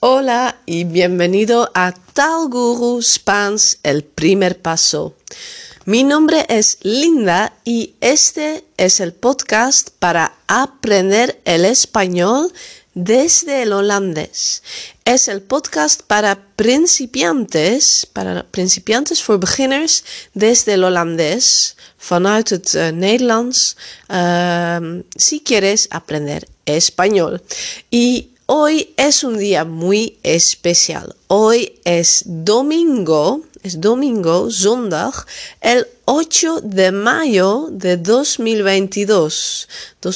Hola y bienvenido a Tal Guru Spaans, el primer paso. Mi nombre es Linda y este es el podcast para aprender el español desde el holandés. Es el podcast para principiantes for beginners desde el holandés, vanuit het Nederlands, si quieres aprender español. Y hoy es un día muy especial. Hoy es domingo, zondag, el 8 de mayo de 2022,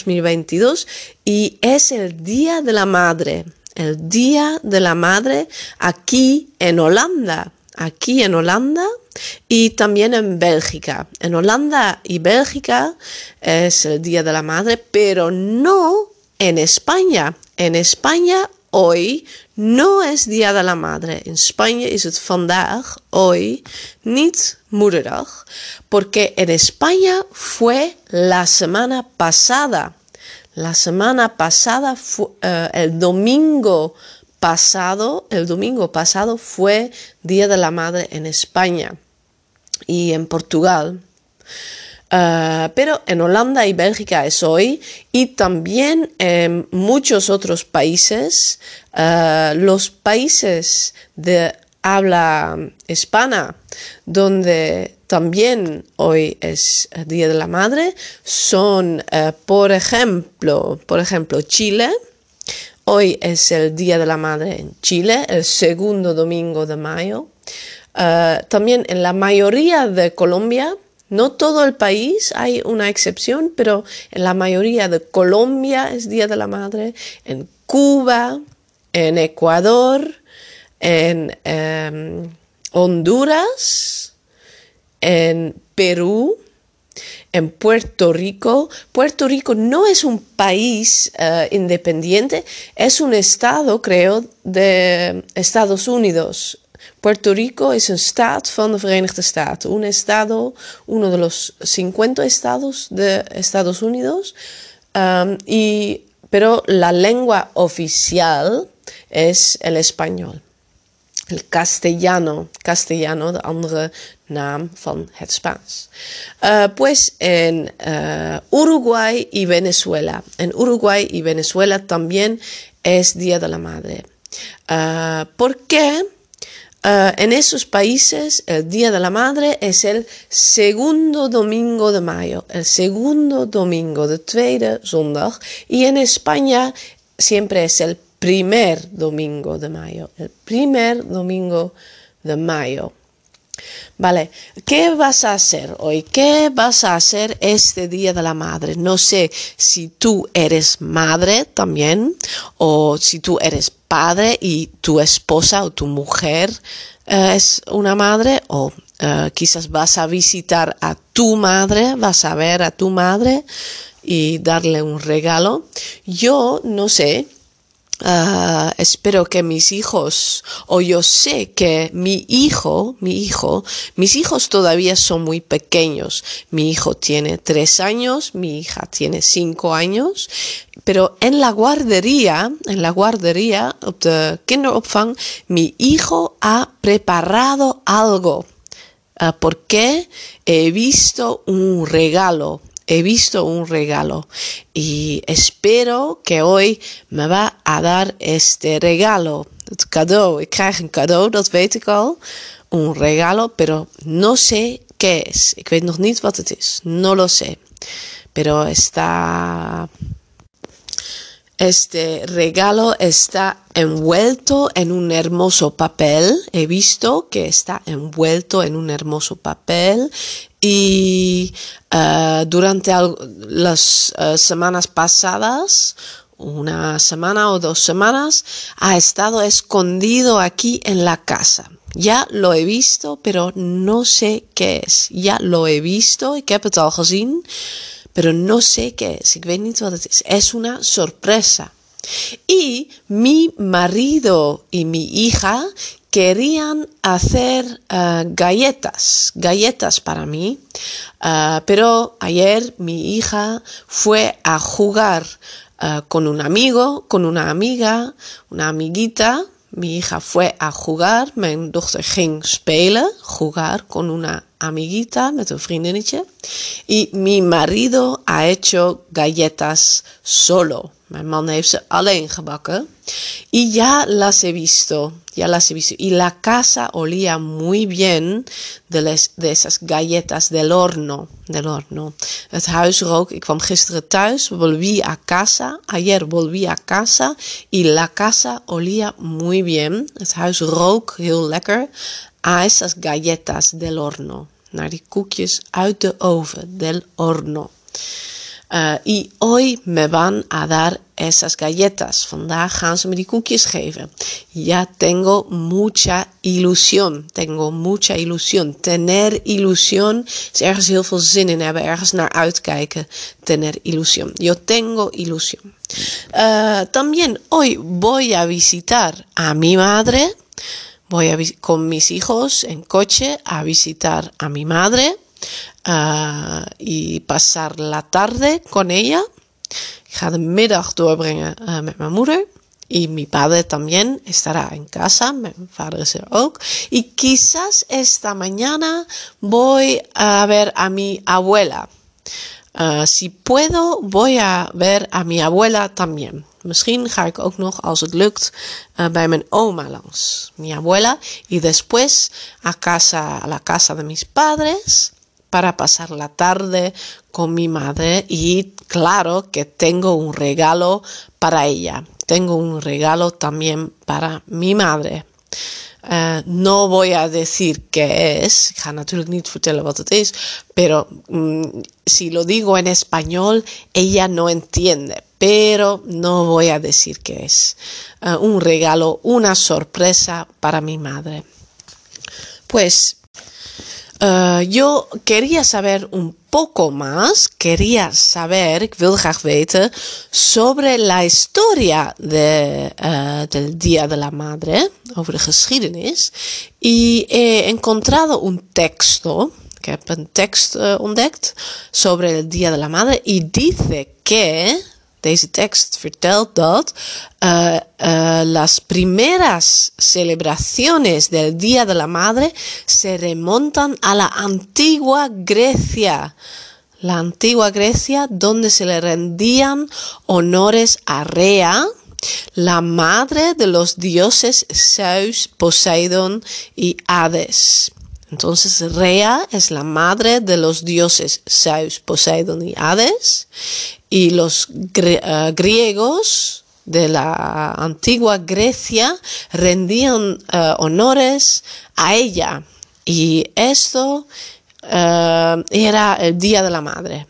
y es el Día de la Madre. El Día de la Madre aquí en Holanda. Y también en Bélgica. En Holanda y Bélgica es el Día de la Madre, pero no en España. En España hoy no es Día de la Madre. In Spanje is het vandaag, hoy, niet Moederdag, porque en España fue la semana pasada. La semana pasada, el domingo pasado fue Día de la Madre en España y en Portugal. Pero en Holanda y Bélgica es hoy, y también en muchos otros países, los países de habla hispana, donde también hoy es Día de la Madre, son, por ejemplo, Chile. Hoy es el Día de la Madre en Chile, el segundo domingo de mayo. También en la mayoría de Colombia. No todo el país, hay una excepción, pero en la mayoría de Colombia es Día de la Madre, en Cuba, en Ecuador, en Honduras, en Perú, en Puerto Rico. Puerto Rico no es un país independiente, es un estado, creo, de Estados Unidos. Puerto Rico es un staat van de Verenigde Staten, uno de los 50 estados de Estados Unidos, pero la lengua oficial es el español. El castellano, de andere naam van het Spaans. Pues en Uruguay y Venezuela. En Uruguay y Venezuela también es Día de la Madre. ¿Por qué? En esos países el Día de la Madre es el segundo domingo de mayo, el segundo domingo, de tweede zondag, y en España siempre es el primer domingo de mayo, Vale, ¿qué vas a hacer hoy? ¿Qué vas a hacer este Día de la Madre? No sé si tú eres madre también, o si tú eres padre y tu esposa o tu mujer es una madre, o quizás vas a visitar a tu madre, vas a ver a tu madre y darle un regalo. Yo no sé. Espero que mis hijos, o yo sé que mis hijos todavía son muy pequeños. Mi hijo tiene 3 años, mi hija tiene 5 años, pero en la guardería, op de kinderopvang, mi hijo ha preparado algo. Porque he visto un regalo y espero que hoy me va a dar este regalo. Het cadeau, ik krijg een cadeau, dat weet ik al. Un regalo, pero no sé qué es. Ik weet nog niet wat het is, no lo sé. Pero este regalo está envuelto en un hermoso papel. He visto que está envuelto en un hermoso papel. Y durante las semanas pasadas, una semana o 2 semanas, ha estado escondido aquí en la casa. Ya lo he visto, pero no sé qué es. Ya lo he visto, ik heb het al gezien, pero no sé qué es. Ik weet niet wat het is. Es una sorpresa. Y mi marido y mi hija querían hacer galletas para mí, pero ayer mi hija fue a jugar con un amigo, con una amiga, una amiguita, mi hija fue a jugar, mijn dochter ging spelen, jugar con una amiguita, met een vriendinnetje. Y mi marido ha hecho galletas solo. Mijn man heeft ze alleen gebakken. Y ya las he visto. Y la casa olía muy bien de esas galletas del horno. Het huis rook. Ik kwam gisteren thuis. Ayer volví a casa. Y la casa olía muy bien. Het huis rook heel lekker. A esas galletas del horno. Naar die koekjes uit de oven. Del horno. Y hoy me van a dar esas galletas. Vandaag gaan ze me die koekjes geven. Ya tengo mucha ilusión. Tener ilusión is ergens heel veel zin in hebben. Ergens naar uitkijken. Tener ilusión. Yo tengo ilusión. También hoy voy a visitar a mi madre. Voy con mis hijos en coche a visitar a mi madre. Y pasar la tarde con ella. Ik ga de middag doorbrengen met mijn moeder. Y mi padre también estará en casa. Mijn vader is er ook. Y quizás esta mañana voy a ver a mi abuela. Si puedo, voy a ver a mi abuela también. Misschien ga ik ook nog, als het lukt, bij mijn oma langs. Mi abuela. Y después a la casa de mis padres. Para pasar la tarde con mi madre y claro que tengo un regalo para ella. Tengo un regalo también para mi madre. No voy a decir qué es. Ik ga natuurlijk niet vertellen wat het is. Pero si lo digo en español, ella no entiende. Pero no voy a decir qué es. Un regalo, una sorpresa para mi madre. Pues yo quería saber un poco más, ik wil graag weten, sobre la historia del Día de la Madre, over de geschiedenis. Y he encontrado un texto, ik heb een tekst ontdekt, sobre el Día de la Madre, y dice que, deze tekst vertelt dat las primeras celebraciones del Día de la Madre se remontan a la antigua Grecia. La antigua Grecia, donde se le rendían honores a Rea, la madre de los dioses Zeus, Poseidón y Hades. Entonces Rea es la madre de los dioses Zeus, Poseidón y Hades. Y los griegos de la antigua Grecia rendían honores a ella. Y esto era el Día de la Madre.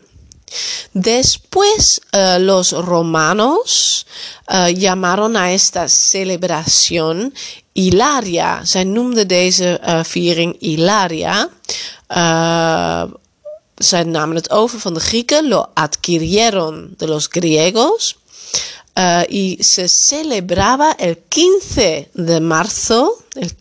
Después los romanos llamaron a esta celebración Hilaria. Zij noemden deze viering Hilaria. Zij namen het over van de Grieken, lo adquirieron de los griegos, y se celebraba el 15 de marzo,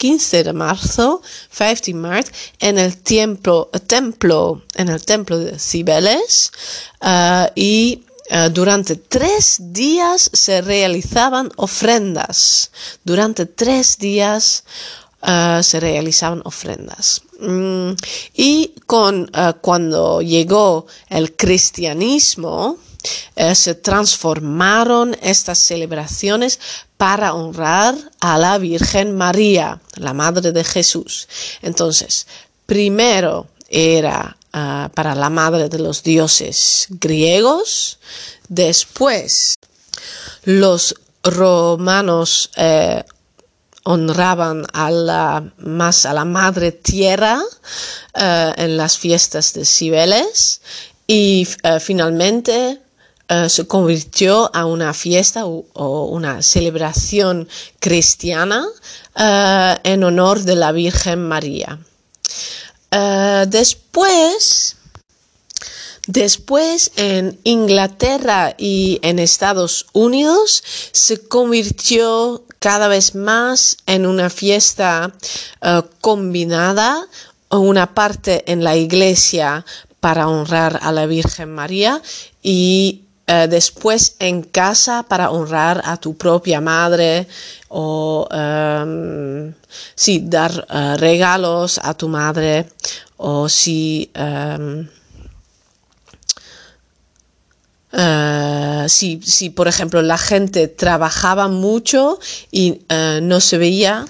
15 maart, en el templo de Cibeles, y durante 3 días se realizaban ofrendas. Y cuando llegó el cristianismo, se transformaron estas celebraciones para honrar a la Virgen María, la Madre de Jesús. Entonces, primero era para la madre de los dioses griegos, después los romanos honraban más a la madre tierra en las fiestas de Cibeles y finalmente se convirtió a una fiesta o una celebración cristiana en honor de la Virgen María. Después en Inglaterra y en Estados Unidos se convirtió cada vez más en una fiesta combinada, una parte en la iglesia para honrar a la Virgen María y después en casa para honrar a tu propia madre o dar regalos a tu madre o si por ejemplo la gente trabajaba mucho y no se veía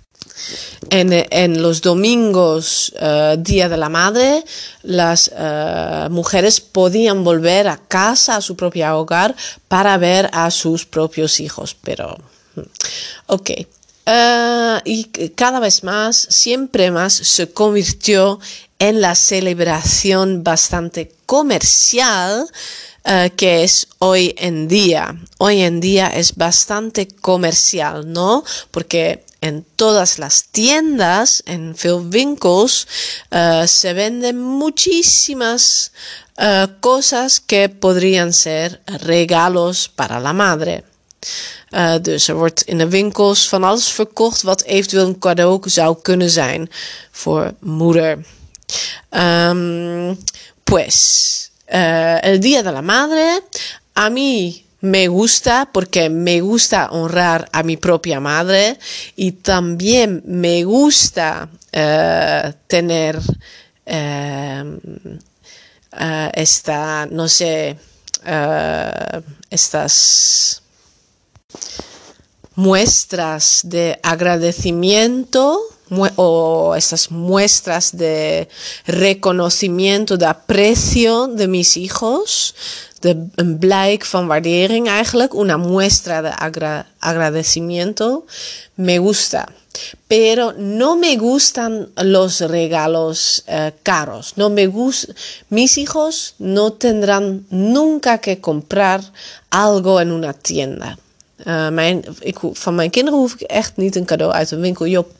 en los domingos, Día de la Madre, las mujeres podían volver a casa, a su propio hogar, para ver a sus propios hijos. Pero, ok. Y cada vez más, siempre más, se convirtió en la celebración bastante comercial que es hoy en día. Hoy en día es bastante comercial, ¿no? Porque en todas las tiendas, en veel winkels, se venden muchísimas cosas que podrían ser regalos para la madre. Dus wordt in de winkels van alles verkocht wat eventueel een cadeau zou kunnen zijn voor moeder. El Día de la Madre, a mí me gusta porque me gusta honrar a mi propia madre y también me gusta tener estas muestras de agradecimiento o estas muestras de reconocimiento, de aprecio de mis hijos, een blijk van waardering eigenlijk, una muestra de agradecimiento, me gusta. Pero no me gustan los regalos caros. Mis hijos no tendrán nunca que comprar algo en una tienda. Van mijn kinderen hoef ik echt niet een cadeau uit een winkel. Yo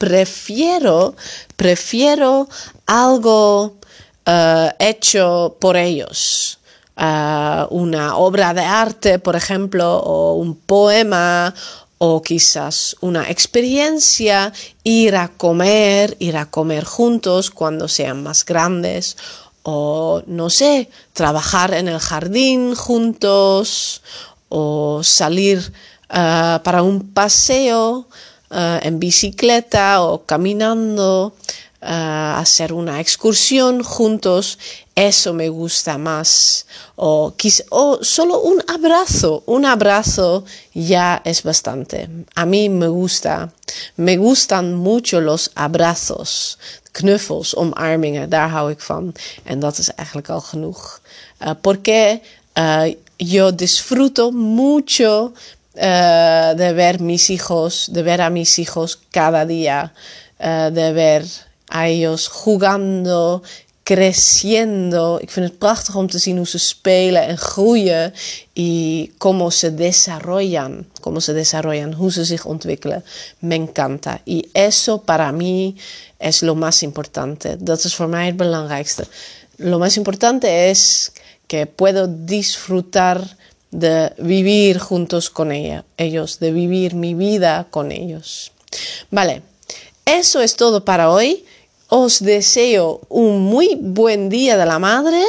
prefiero algo hecho por ellos. Una obra de arte, por ejemplo, o un poema, o quizás una experiencia, ir a comer juntos cuando sean más grandes, o no sé, trabajar en el jardín juntos, o salir para un paseo en bicicleta o caminando, hacer una excursión juntos. Eso me gusta más. O solo un abrazo ya es bastante. A mí me gustan mucho los abrazos, knuffels, omarmingen, daar hou ik van. En dat is eigenlijk al genoeg. Porque yo disfruto mucho de ver a mis hijos cada día, de ver a ellos jugando, creciendo. Ik vind het prachtig om te zien hoe ze spelen en groeien y cómo se desarrollan, hoe ze zich ontwikkelen. Me encanta. Y eso para mí es lo más importante. Dat is voor mij het belangrijkste. Lo más importante es que puedo disfrutar de vivir juntos con ellos, de vivir mi vida con ellos. Vale, eso es todo para hoy. Os deseo un muy buen Día de la Madre.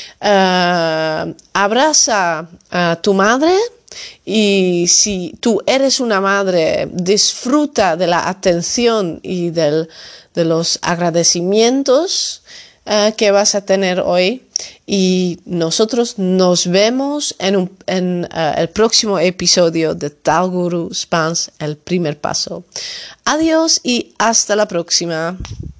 Abraza a tu madre y si tú eres una madre, disfruta de la atención y de los agradecimientos que vas a tener hoy. Y nosotros nos vemos en el próximo episodio de Taalguru Spaans, el primer paso. Adiós y hasta la próxima.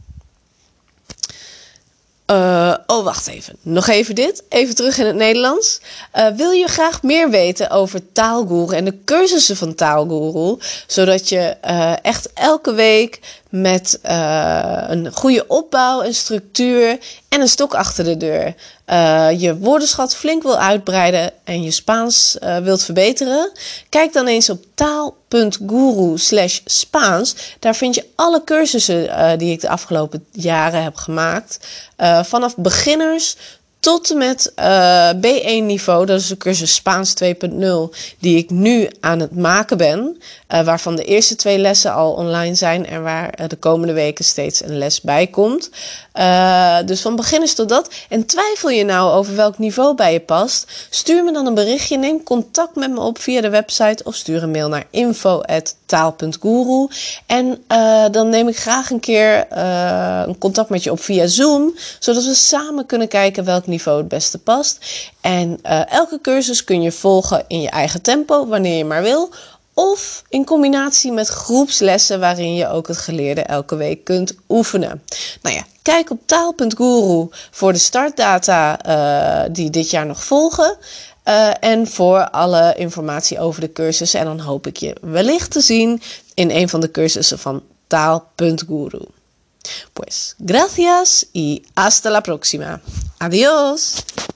Wacht even. Nog even dit. Even terug in het Nederlands. Wil je graag meer weten over Taalguru en de cursussen van Taalguru, zodat je echt elke week met een goede opbouw, een structuur en een stok achter de deur je woordenschat flink wil uitbreiden en je Spaans wilt verbeteren? Kijk dan eens op taal.guru/Spaans. Daar vind je alle cursussen die ik de afgelopen jaren heb gemaakt. Vanaf beginners tot en met B1 niveau. Dat is de cursus Spaans 2.0 die ik nu aan het maken ben. Waarvan de eerste 2 lessen al online zijn en waar de komende weken steeds een les bij komt. Dus van beginners tot dat. En twijfel je nou over welk niveau bij je past? Stuur me dan een berichtje, neem contact met me op via de website of stuur een mail naar info@taal.guru. En dan neem ik graag een keer een contact met je op via Zoom, zodat we samen kunnen kijken welk niveau het beste past. En elke cursus kun je volgen in je eigen tempo, wanneer je maar wil. Of in combinatie met groepslessen waarin je ook het geleerde elke week kunt oefenen. Nou ja, kijk op taal.guru voor de startdata die dit jaar nog volgen. En voor alle informatie over de cursus. En dan hoop ik je wellicht te zien in een van de cursussen van taal.guru. Pues gracias y hasta la próxima. Adiós.